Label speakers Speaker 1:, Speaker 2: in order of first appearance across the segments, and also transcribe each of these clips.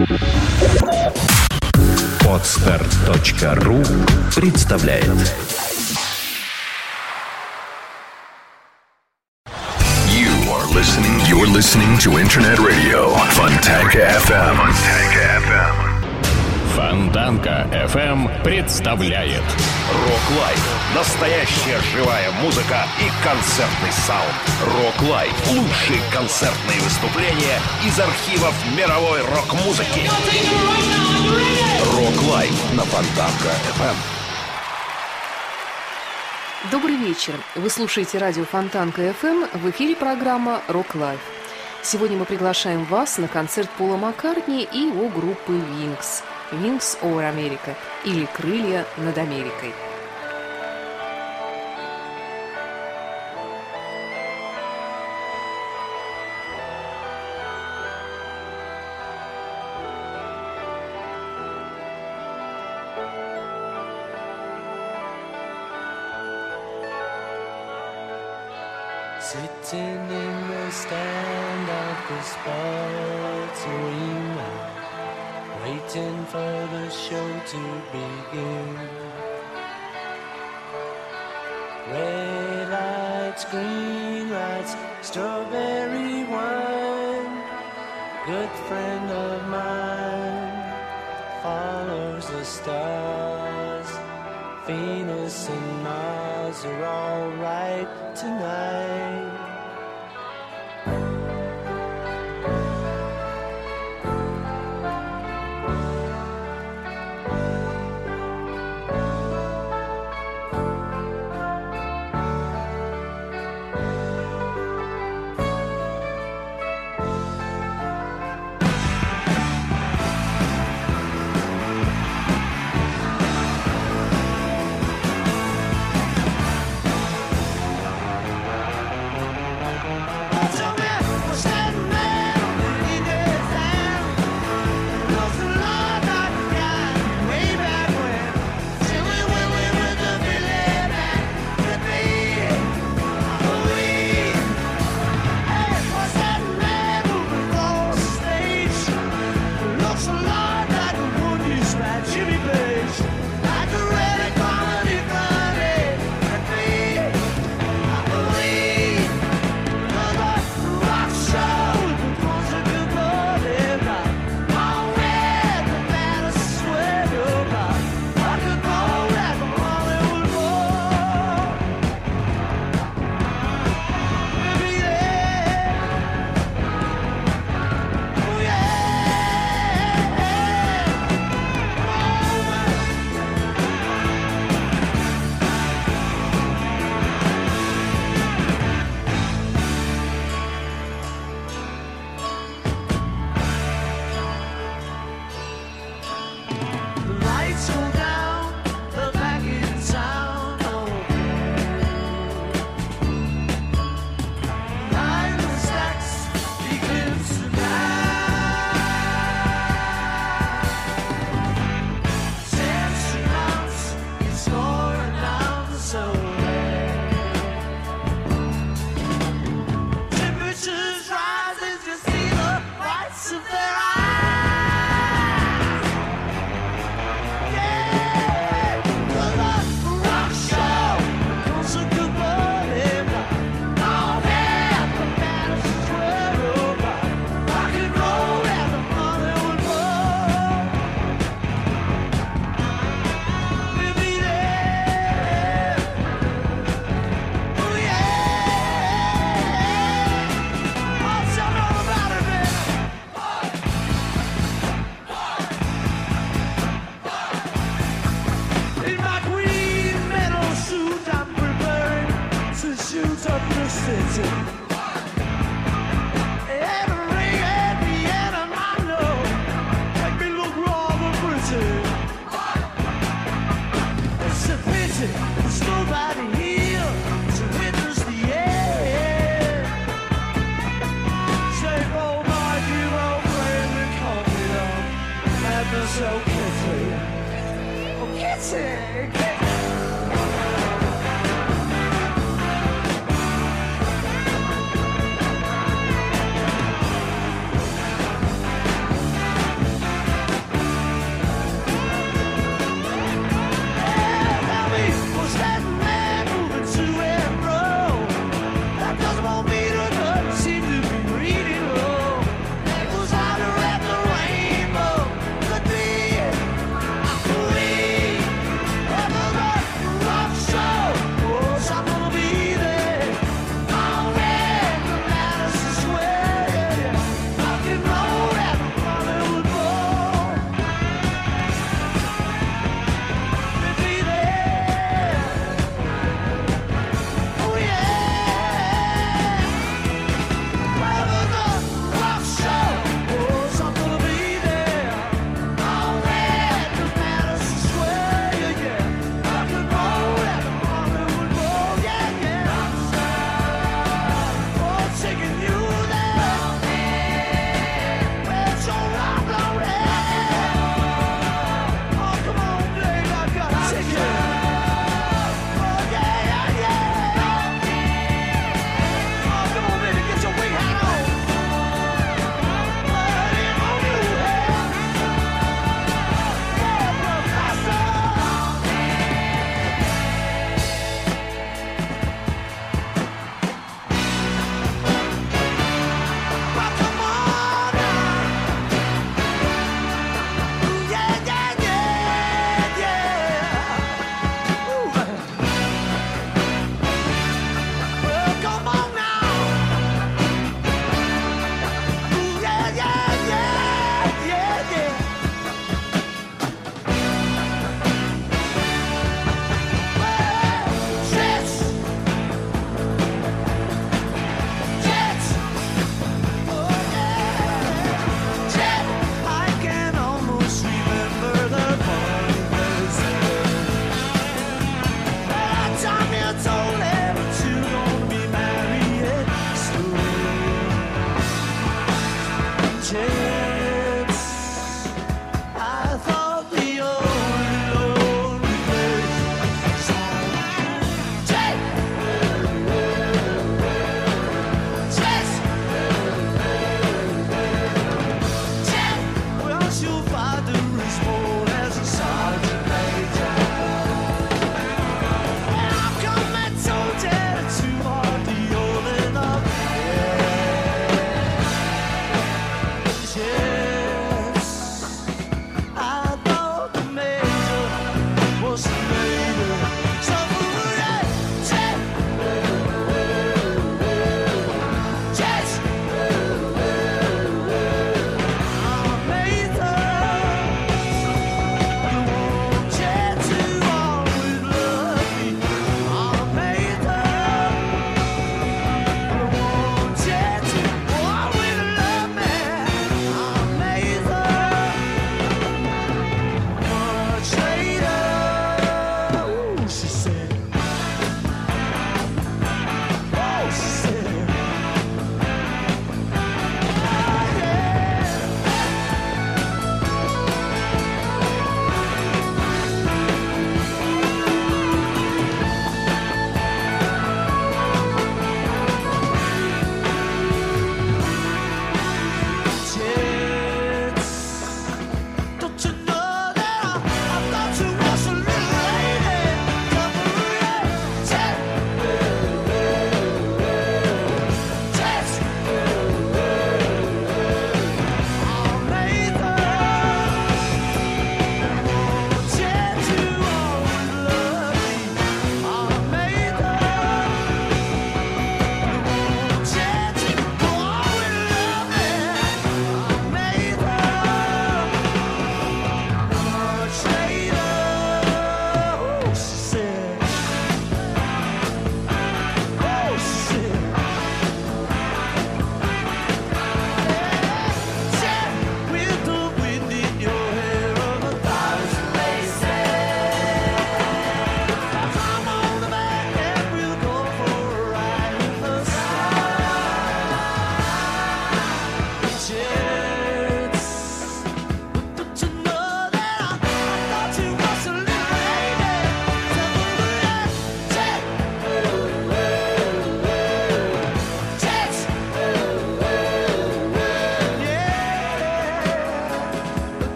Speaker 1: Podster.ru представляет.
Speaker 2: You're listening to Internet Radio Fontanka FM.
Speaker 3: Фонтанка FM представляет
Speaker 4: Рок Лайв. Настоящая живая музыка и концертный саунд. Рок Лайв. Лучшие концертные выступления из архивов мировой рок-музыки. Рок Лайв на Фонтанка FM.
Speaker 5: Добрый вечер. Вы слушаете радио Фонтанка FM. В эфире программа «Рок Лайв». Сегодня мы приглашаем вас на концерт Пола Маккартни и его группы Wings. Wings over America или «Крылья над Америкой».
Speaker 6: Sitting in the stand of the sports arena, waiting for the show to begin. Red lights, green lights, strawberry wine. Good friend of mine follows the stars. Venus and Mars are all right tonight.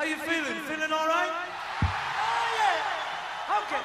Speaker 7: you feeling? Feeling all right? Oh, yeah. Okay.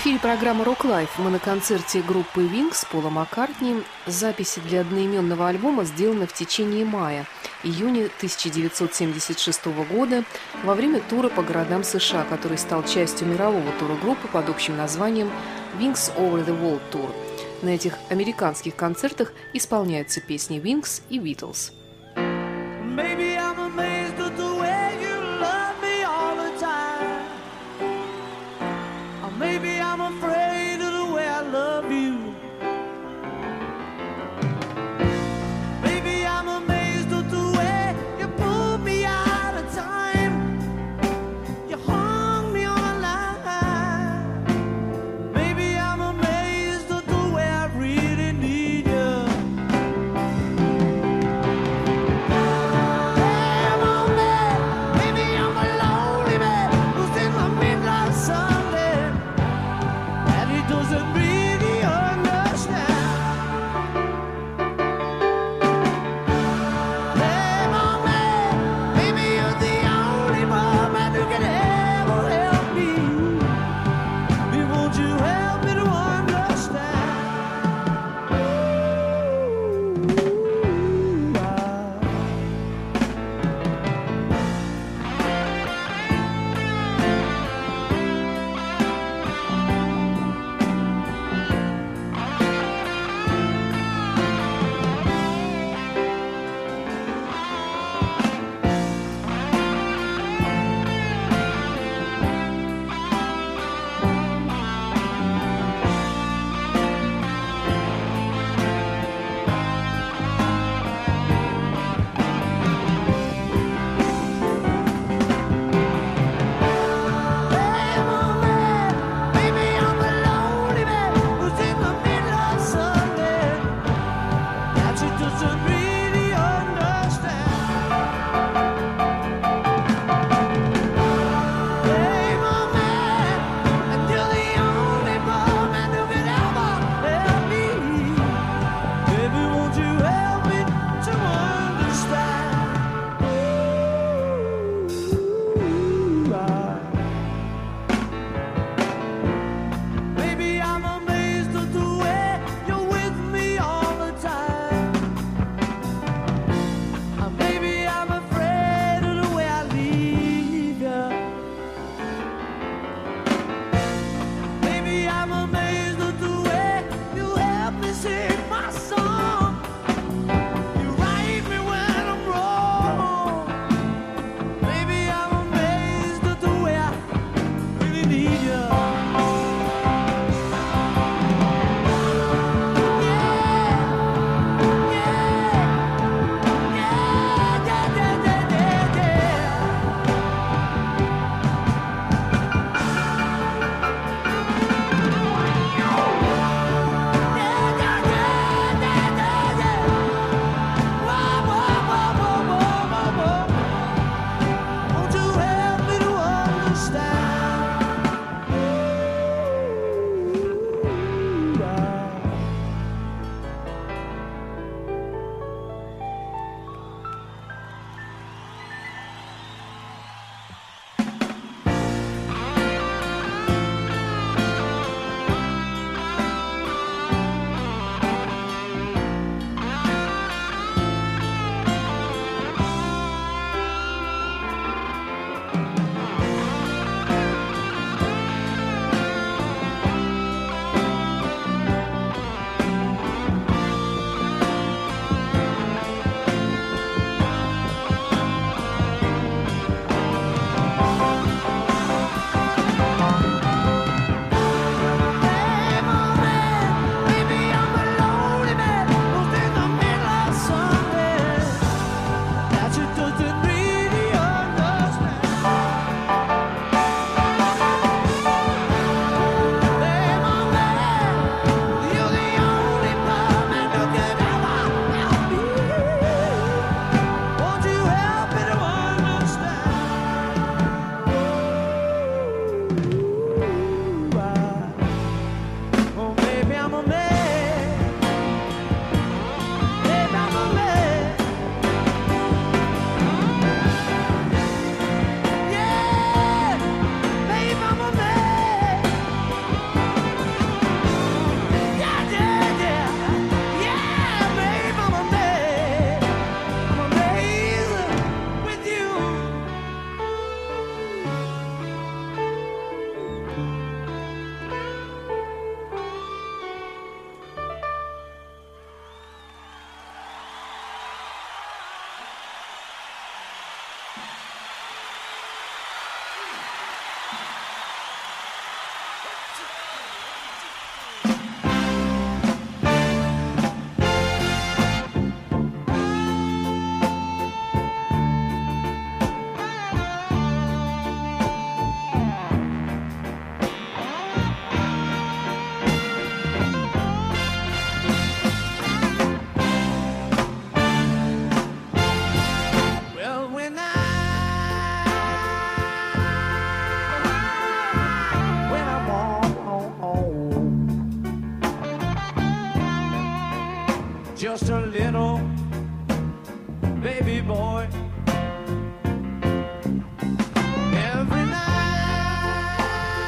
Speaker 5: эфире программа «Рок Лайф». Мы на концерте группы Wings Пола Маккартни. Записи для одноименного альбома сделаны в течение июня 1976 года во время тура по городам США, который стал частью мирового тура группы под общим названием Wings Over the World Tour. На этих американских концертах исполняются песни Wings и Beatles.
Speaker 7: Maybe I'm amazed at the way you love me all the time. Or maybe I'm afraid of the way I love you. Maybe I'm amazed at the way you pulled me out of time. You hung me on a line. Maybe I'm amazed at the way I really need you. just a little baby boy. Every night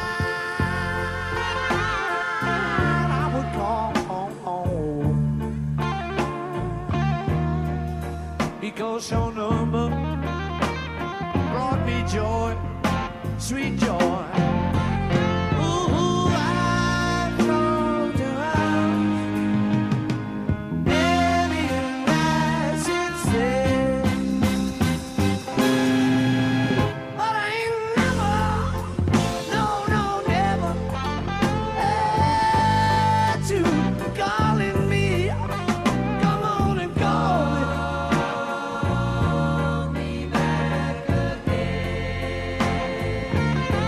Speaker 7: I would call home because your number brought me joy, sweet joy. Ooh, I found you out many nights since then, but I ain't never, no, never had you calling me. Come on and call me back again.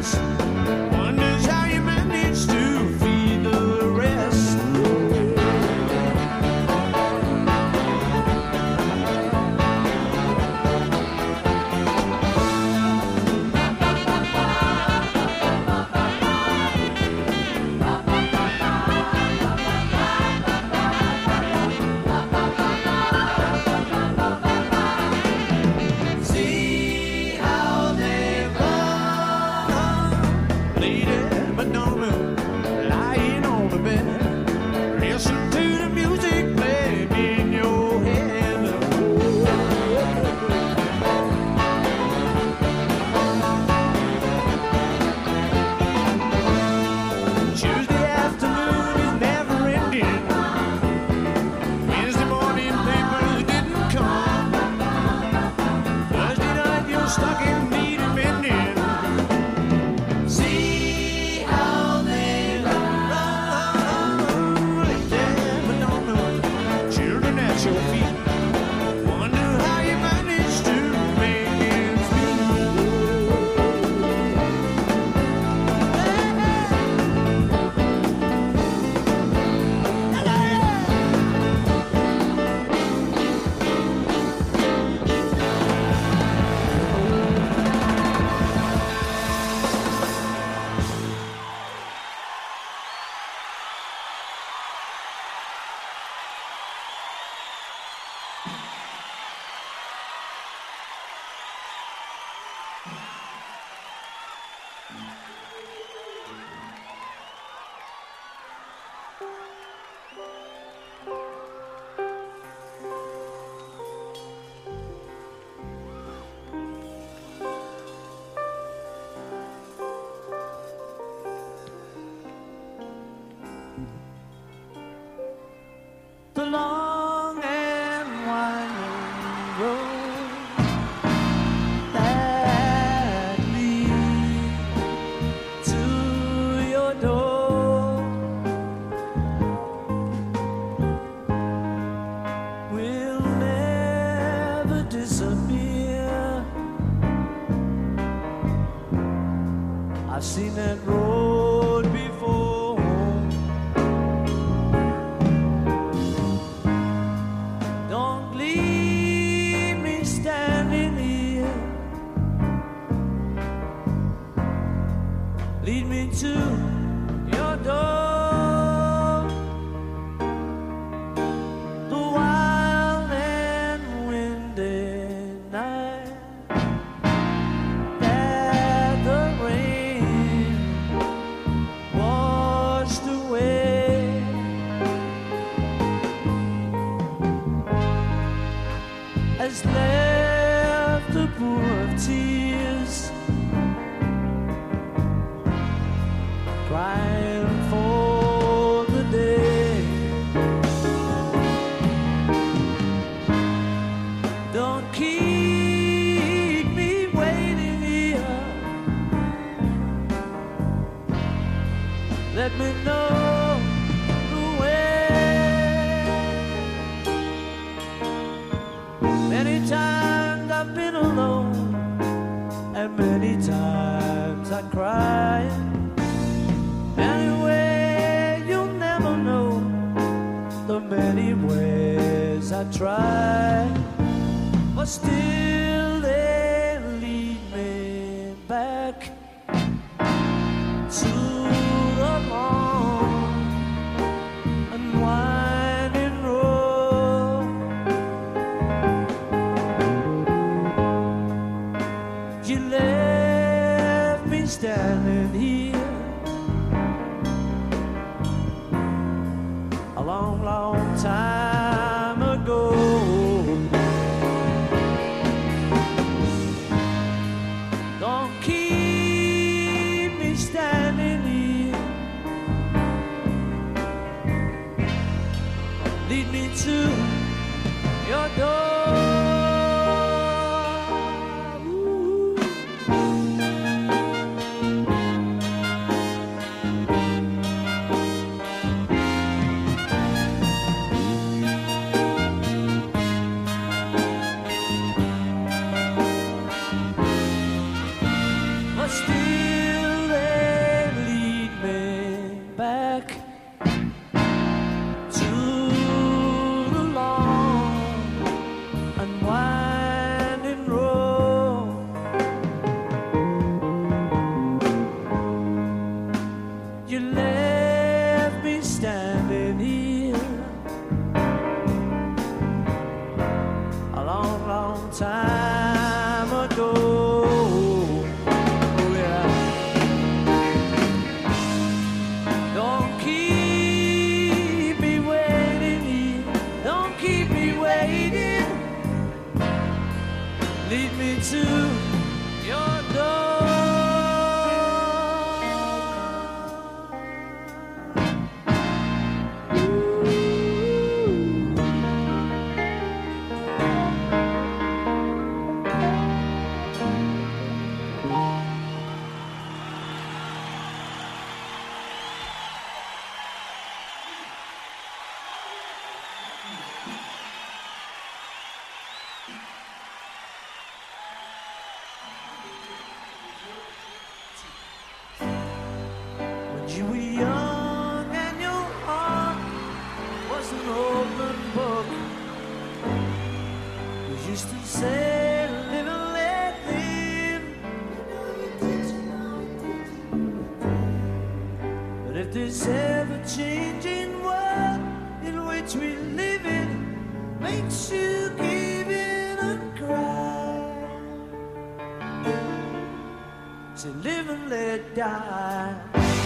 Speaker 7: Wonders how you manage to feed the rest. See how they run, Lady Madonna, lying on the bed. Listen to the music playing in your head. Tuesday afternoon is never ending. Wednesday morning papers didn't come. Thursday night you're stuck in need of mending. See how they run, Lady Madonna, children at your feet. Wonder how you manage to make ends the long and winding road that leads to your door will never disappear. I've seen that road before. Don't leave me standing here. Lead me to your door. The wild and windy night that the rain washed away. Has left a pool of tears, crying for the day. Don't keep me waiting here. Let me know the way. Many times I've been alone, and many times I cried. Anyway, you'll never know the many ways I tried, but still they lead me back to the long and winding road. You left me standing here a long, long time ago. Don't keep me standing here. Lead me to your door. Ooh. But still me to your door. You were young and your heart was an open book. You used to say, live and let live. But if this ever-changing world in which we live in makes you give in and cry, say live and let die.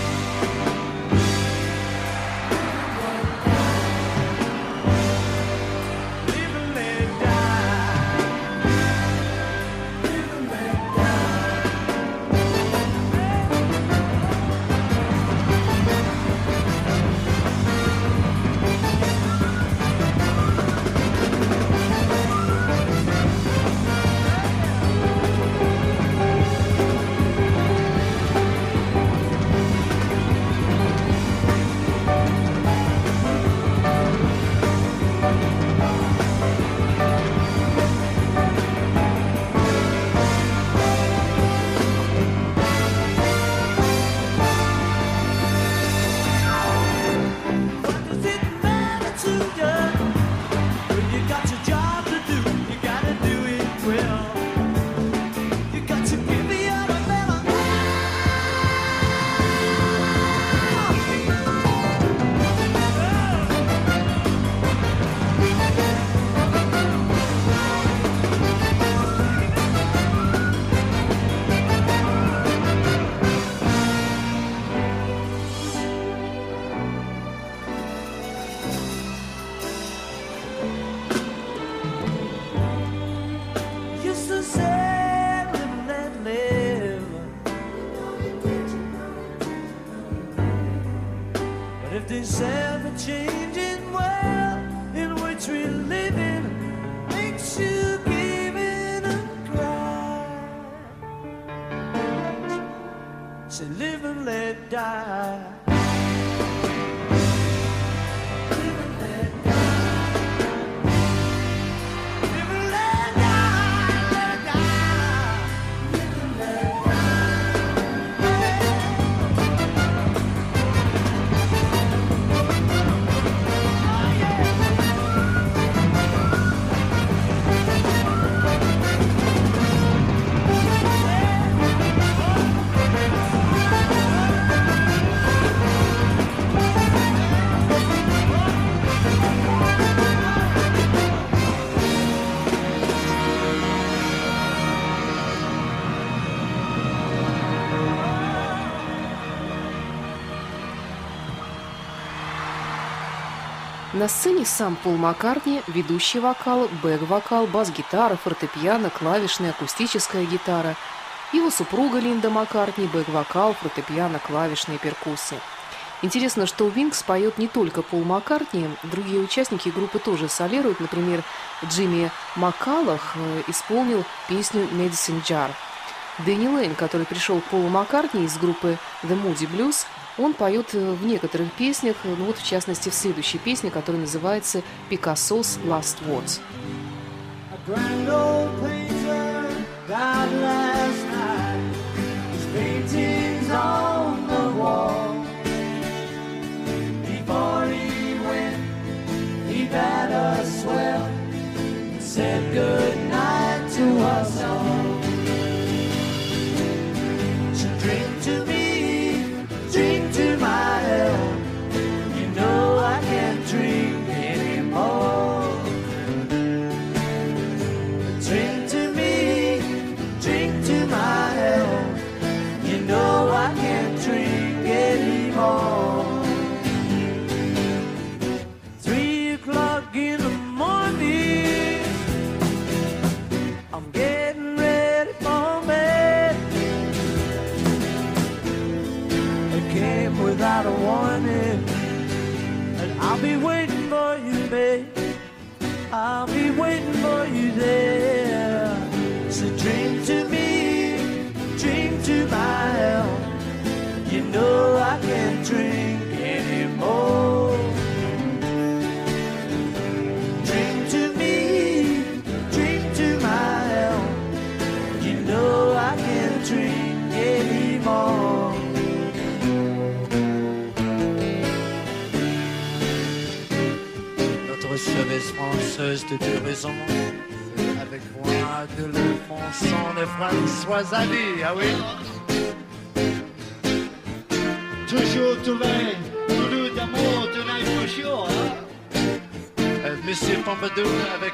Speaker 7: This ever-changing world in which we live in makes you give in and cry. Say live and let die. Live and let die. Live and let die. Let die. Live and let
Speaker 5: На сцене сам Пол Маккартни, ведущий вокал, бэк-вокал, бас-гитара, фортепиано, клавишная, акустическая гитара. Его супруга Линда Маккартни, бэк-вокал, фортепиано, клавишные, перкуссии. Интересно, что у Винкс поет не только Пол Маккартни, другие участники группы тоже солируют. Например, Джимми Маккаллах исполнил песню «Medicine Jar». Дэнни Лейн, который пришел к Полу Маккартни из группы The Moody Blues, он поет в некоторых песнях, ну вот в частности в следующей песне, которая называется «Picasso's Last Words».
Speaker 7: A grand old painter died last night. His paintings on the wall. Before he went, he bade us well and said good night to us all. So drink to me, drink to my health. You know I can't drink anymore. Drink to without a warning. And I'll be waiting for you, babe. I'll be waiting for you there. So dream to me, dream to my help. You know I can't drink anymore. Dream to me, dream to my help. You know I can't drink anymore. Notre chevesse française de deux raisons. Avec moi de le fronçon de François Hardy, ah oui.
Speaker 8: Toujours trouvé, toujours d'amour, tonight for sure, hein?
Speaker 7: Monsieur Pompadour avec...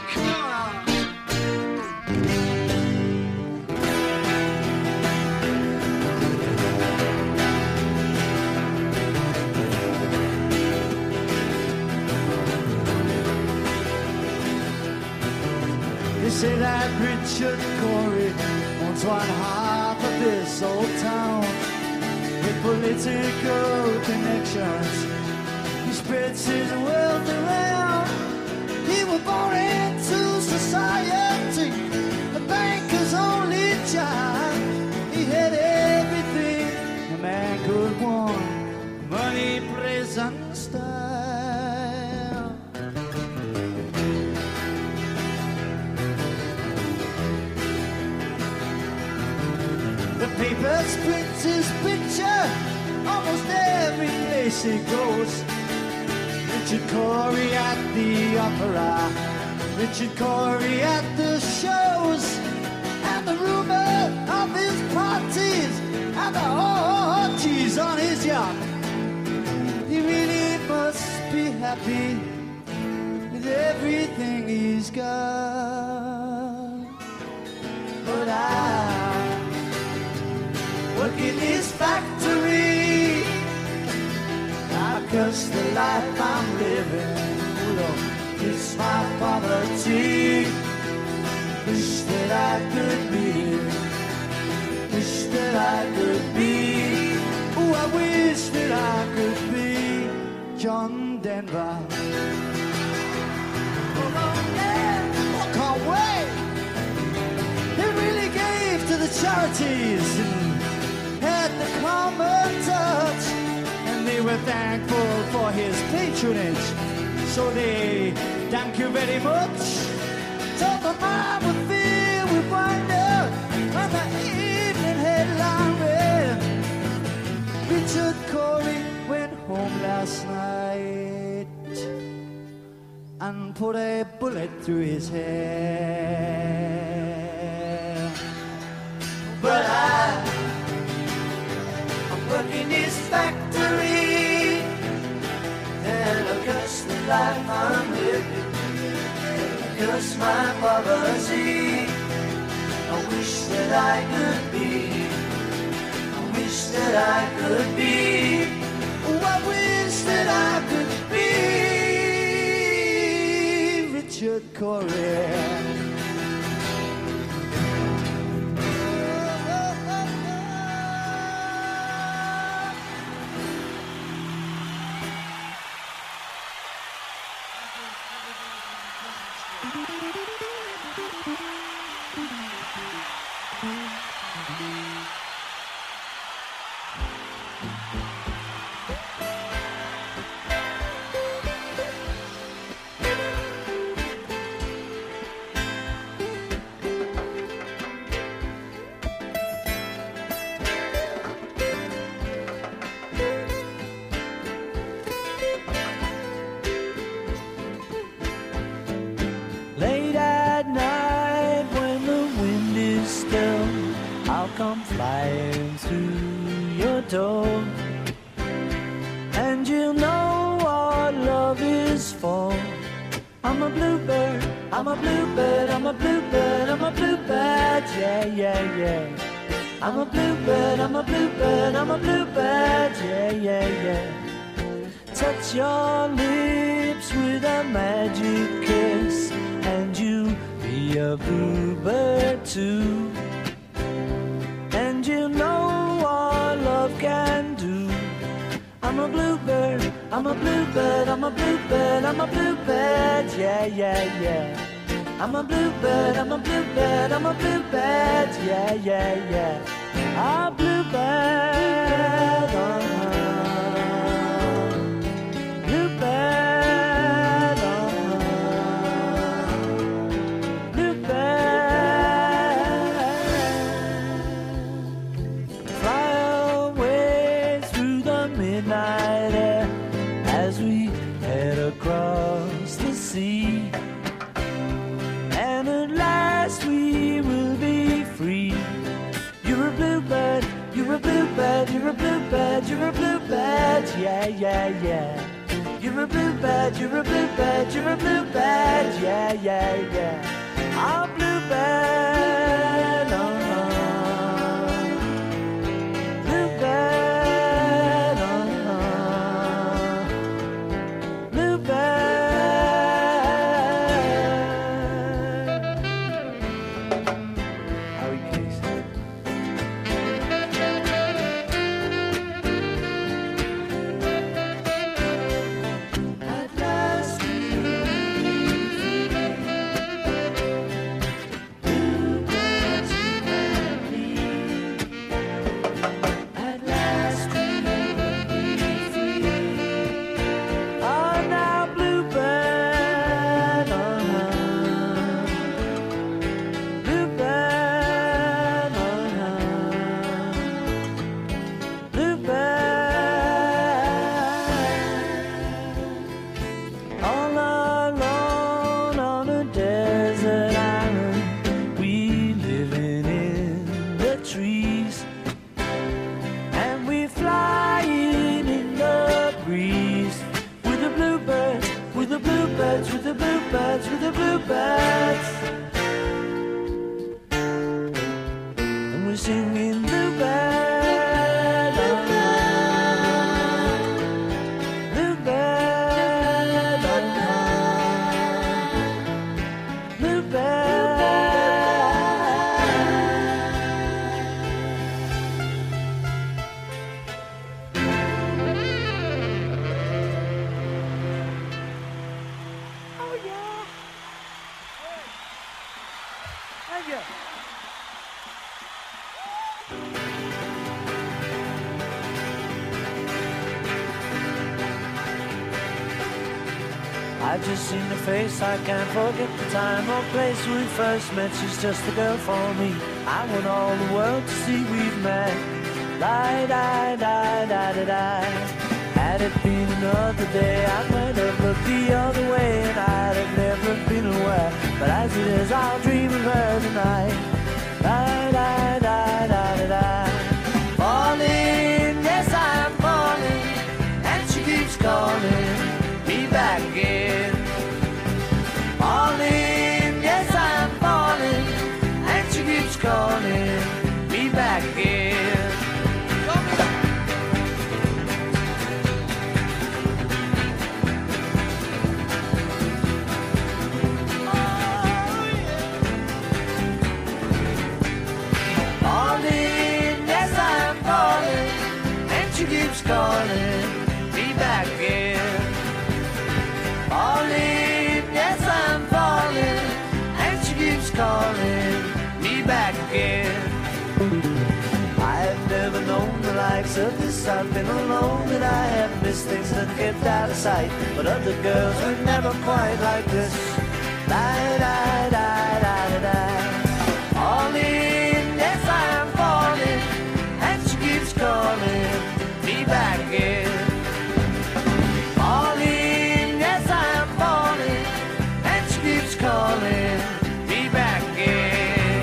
Speaker 7: They say that Richard Corey owns one half of this old town. With political connections, he spreads his wealth around. He was born into society, a banker's only child. He had everything a man could want, money, place, and style. The papers print his picture almost every place he goes. Richard Corey at the opera, Richard Corey at the shows, and the rumor of his parties and the orgies on his yacht. He really must be happy with everything he's got. But I work in his factory. I curse the life I'm living. Oh Lord, it's my poverty. Wish that I could be. Wish that I could be. Oh, I wish that I could be John Denver. Oh Lord, yeah, I can't wait. He really gave to the charities and had the common touch, and they were thankful for his patronage. So they thank you very much. Told the mind would fill with wonder when the evening headline read, Richard Corey went home last night and put a bullet through his head. But I'm working his factory, and I curse the life I'm living, I curse my poverty. I wish that I could be, I wish that I could be, oh, I wish that I could be Richard Corey. Late at night when the wind is still, I'll come flying through your door, and you'll know what love is for. I'm a bluebird, I'm a bluebird, I'm a bluebird, I'm a bluebird, yeah, yeah, yeah. I'm a bluebird, I'm a bluebird, I'm a bluebird, yeah, yeah, yeah. Touch your lips with a magic kiss, and you be a bluebird too. And you know what love can do. I'm I'm a bluebird, I'm a bluebird, I'm a bluebird, I'm a bluebird, yeah, yeah, yeah. I'm a bluebird, I'm a bluebird, I'm a bluebird, yeah, yeah, yeah. A bluebird, bluebird, bluebird. Fly away through the midnight air as we head across the sea. And at last we will be free. You're a bluebird, you're a bluebird, you're a bluebird, you're a bluebird, yeah, yeah, yeah. You're a bluebird, you're a bluebird, you're a bluebird, yeah, yeah, yeah. A bluebird, bluebird, bluebird. Harry Case. At last we will be free. Bluebirds you and me. At last we will be free. Oh, now bluebird, bluebird, bluebird. All alone on a desert island, we living in the trees, and we flying in the breeze with the bluebirds, with the bluebirds, with the bluebirds, with the bluebirds. And we're singing bluebird, bluebird, bluebird. Oh yeah. Thank you. I've just seen her face, I can't forget the time or place we first met. She's just the girl for me. I want all the world to see we've met. Die, die, die, die, die, die. Had it been another day, I might have looked the other way, and I'd have never been aware. But as it is, I'll dream of her tonight. Die, die, die, die, die, die. Falling, yes, I'm falling, and she keeps calling me back again. Falling, yes, I'm falling, and she keeps calling me back again. Falling, yes, I'm falling, and she keeps calling me back again. Falling, yes, I'm falling, and she keeps calling me back again. I've never known the likes of this. I've been alone and I have missed things that kept out of sight. But other girls were never quite like this. Die, die, die, die, die. Falling, yes, I'm falling, and she keeps calling me back again. Falling, yes, I'm falling, and she keeps calling me back again.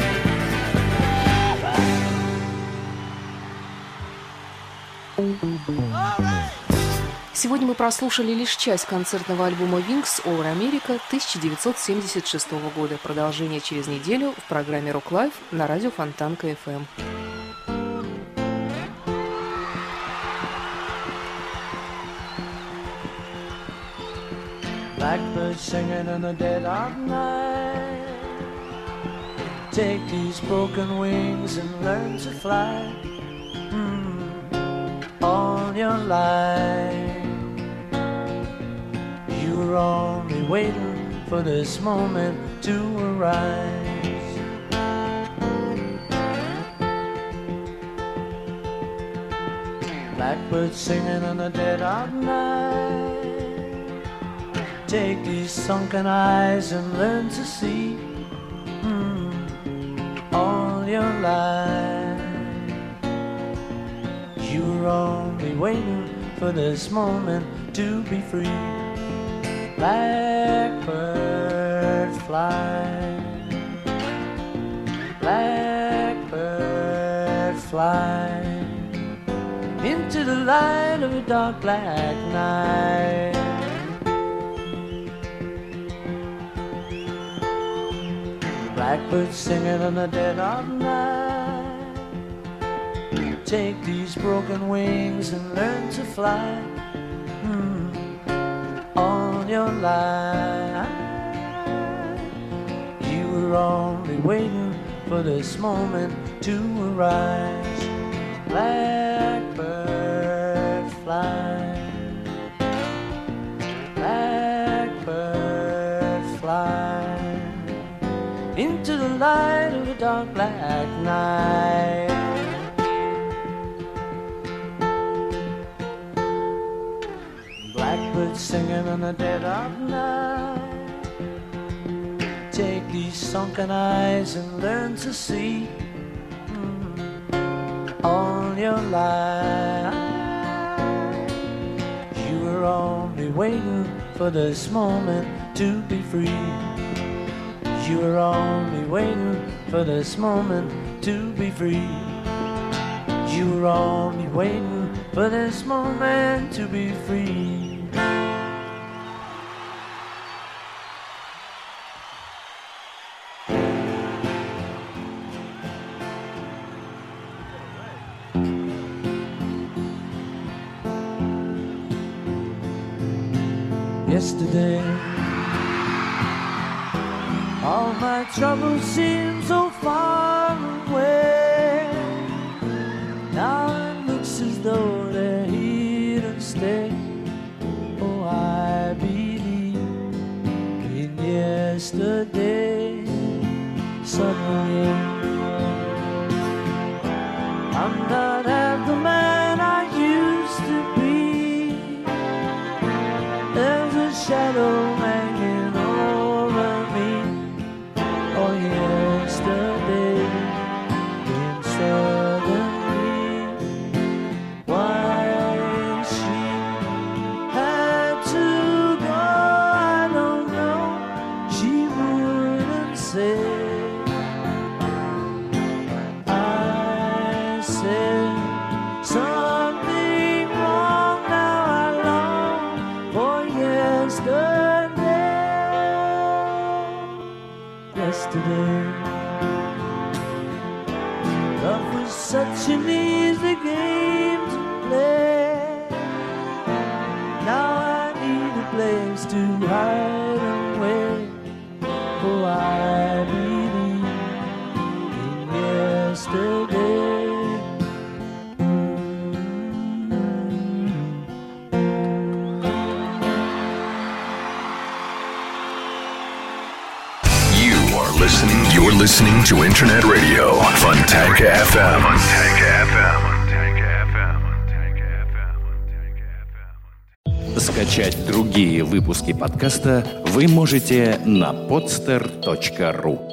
Speaker 5: Сегодня мы прослушали лишь часть концертного альбома Wings Over America 1976 года. Продолжение через неделю в программе Rock Live на радио Фонтанка FM.
Speaker 7: Blackbird singing in the dead of night. Take these broken wings and learn to fly. all your life. You were only waiting for this moment to arise. Blackbird singing in the dead of night. Take these sunken eyes and learn to see all your life. You were only waiting for this moment to be free. Blackbird fly, blackbird fly into the light of a dark black night. Blackbird singing in the dead of night. Take these broken wings and learn to fly all your life. You were only waiting for this moment to arise. Blackbird fly, blackbird fly into the light of a dark black night. Blackbird singing in the dead of night. Take these sunken eyes and learn to see all your life. You were only waiting for this moment to be free. You were only waiting for this moment to be free. You were only waiting for this moment to be free. Yesterday, all my troubles seem so far away. Now it looks as though they're here to stay. Oh, I believe in yesterday. Suddenly, I'm not half the man I used to be. There's a shadow hanging over me. Oh, yesterday, then suddenly, why she had to go, I don't know. She wouldn't say. I said something wrong. Now I long for yesterday. Love was such an easy game to play. Now I need a place to hide away. Oh, I believe in yesterday.
Speaker 2: You're listening to Internet Radio Fontanka FM.
Speaker 1: Скачать другие выпуски подкаста вы можете на podster.ru.